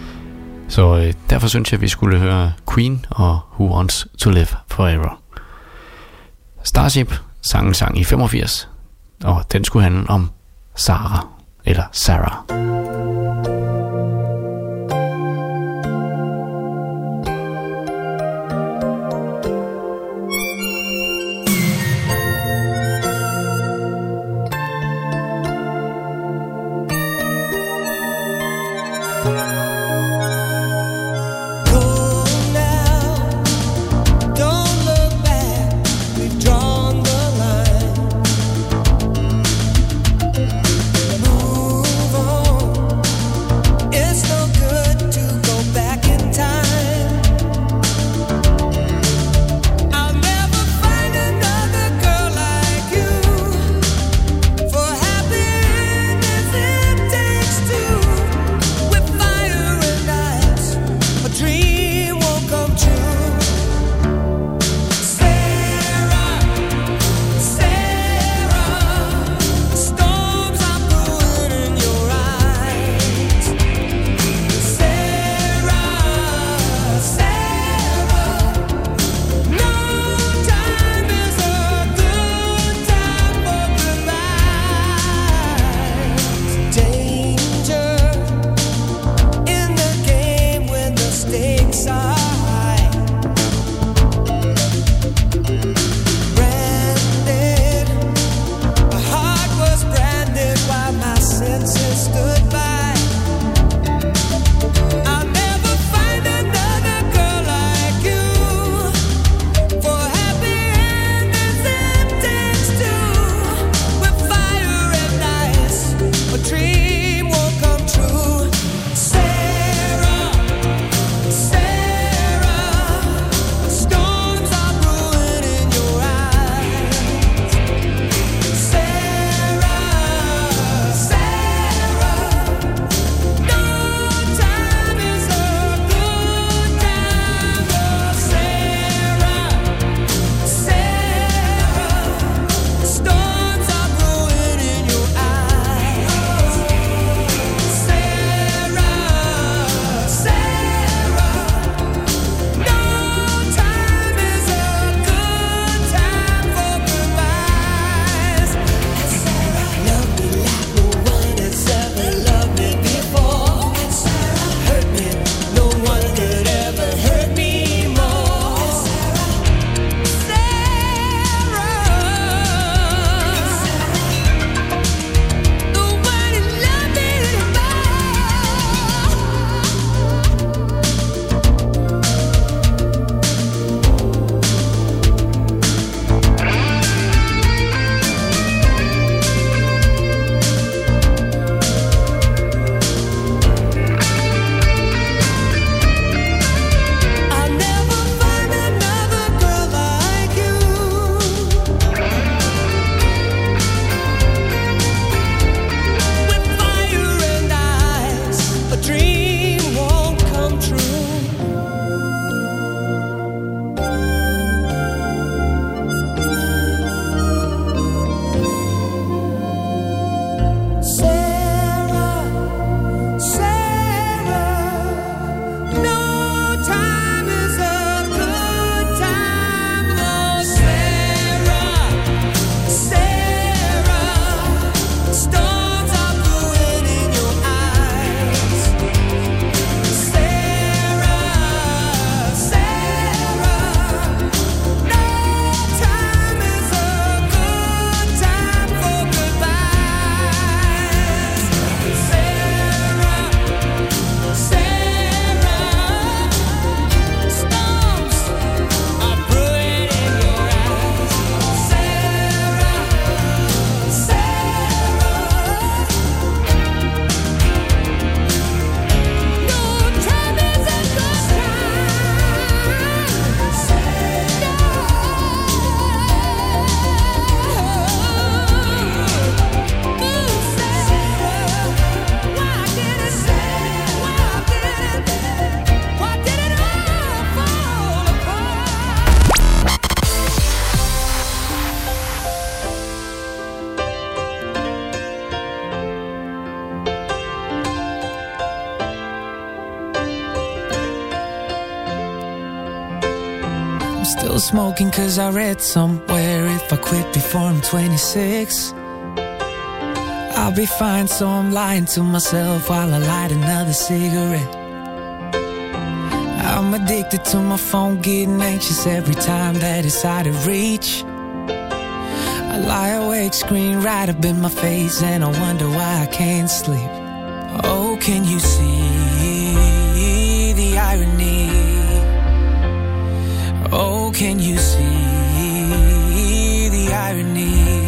Så øh, derfor synes jeg, at vi skulle høre Queen og Who Wants to Live Forever. Starship sang sang i femogfirs, og den skulle handle om Sarah, eller Sarah. Fire still smoking cause I read somewhere if I quit before I'm twenty-six, I'll be fine, so I'm lying to myself while I light another cigarette. I'm addicted to my phone, getting anxious every time that it's out of reach. I lie awake, screen right up in my face, and I wonder why I can't sleep. Oh, can you see the irony? Oh, can you see the irony?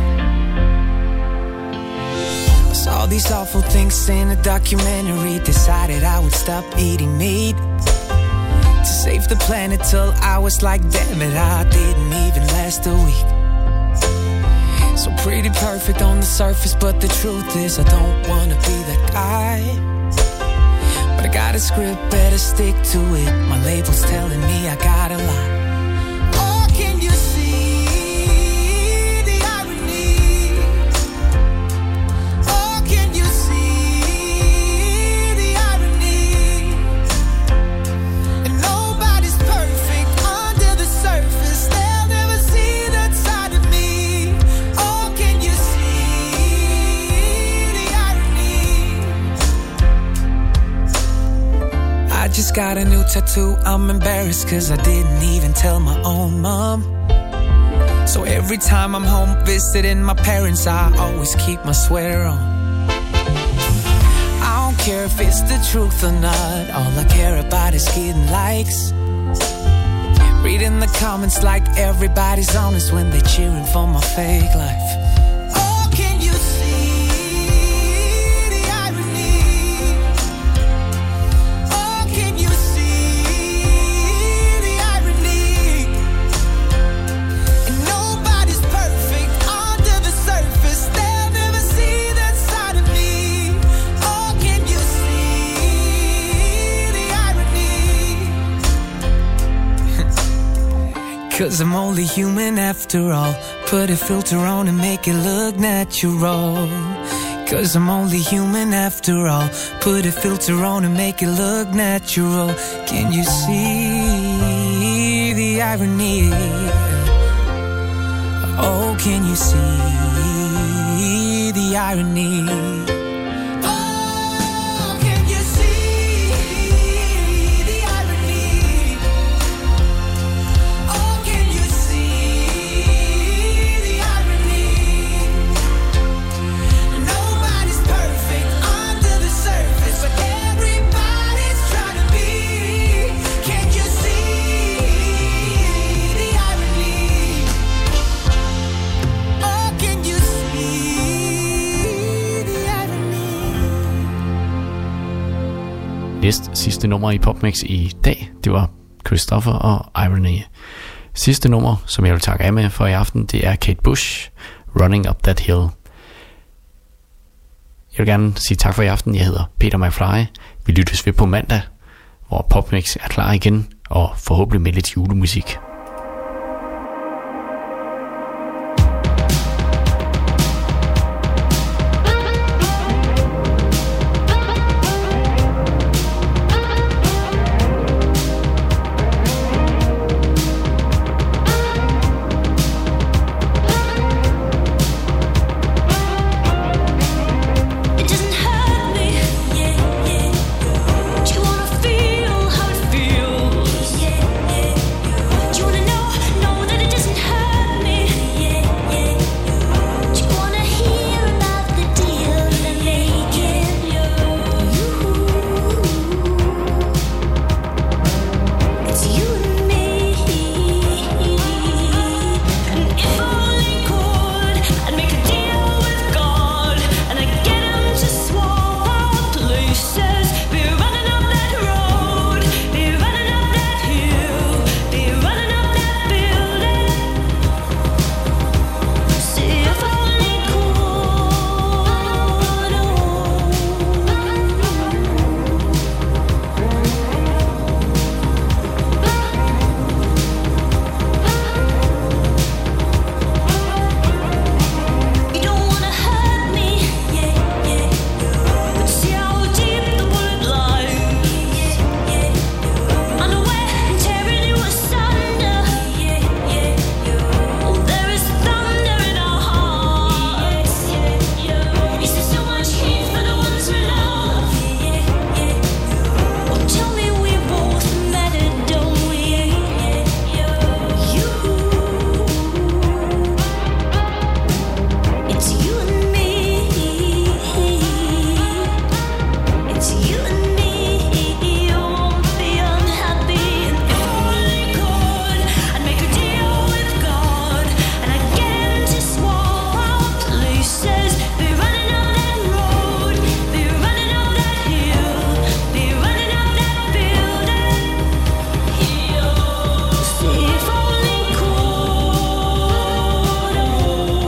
I saw these awful things in a documentary, decided I would stop eating meat to save the planet till I was like, damn it, I didn't even last a week. So pretty perfect on the surface, but the truth is I don't wanna be that guy. But I got a script, better stick to it. My label's telling me I gotta lie. Oh, can you see the irony? Oh, can you see the irony? And nobody's perfect under the surface. They'll never see that side of me. Oh, can you see the irony? I just got a new tattoo. I'm embarrassed cause I didn't even tell my own mom. So every time I'm home visiting my parents, I always keep my sweater on. I don't care if it's the truth or not, all I care about is getting likes. Reading the comments like everybody's honest when they cheering for my fake life. Oh, can you see the irony? Oh, can you see the irony? And nobody's perfect under the surface. They'll never see that side of me. Oh, can you see the irony? Cause I'm only human after all. Put a filter on and make it look natural. Cause I'm only human after all. Put a filter on and make it look natural. Can you see the irony? Oh, can you see the irony? Oh, can you see the irony? Oh, can you see the irony? Nobody's perfect under the surface, but everybody's trying to be. Can you see the irony? Oh, can you see the irony? Næst sidste nummer i PopMix i dag, det var Christopher og Irony. Sidste nummer, som jeg vil takke af med for i aften, det er Kate Bush, Running Up That Hill. Jeg vil gerne sige tak for i aften. Jeg hedder Peter McFly. Vi lyttes ved på mandag, hvor PopMix er klar igen, og forhåbentlig med lidt julemusik.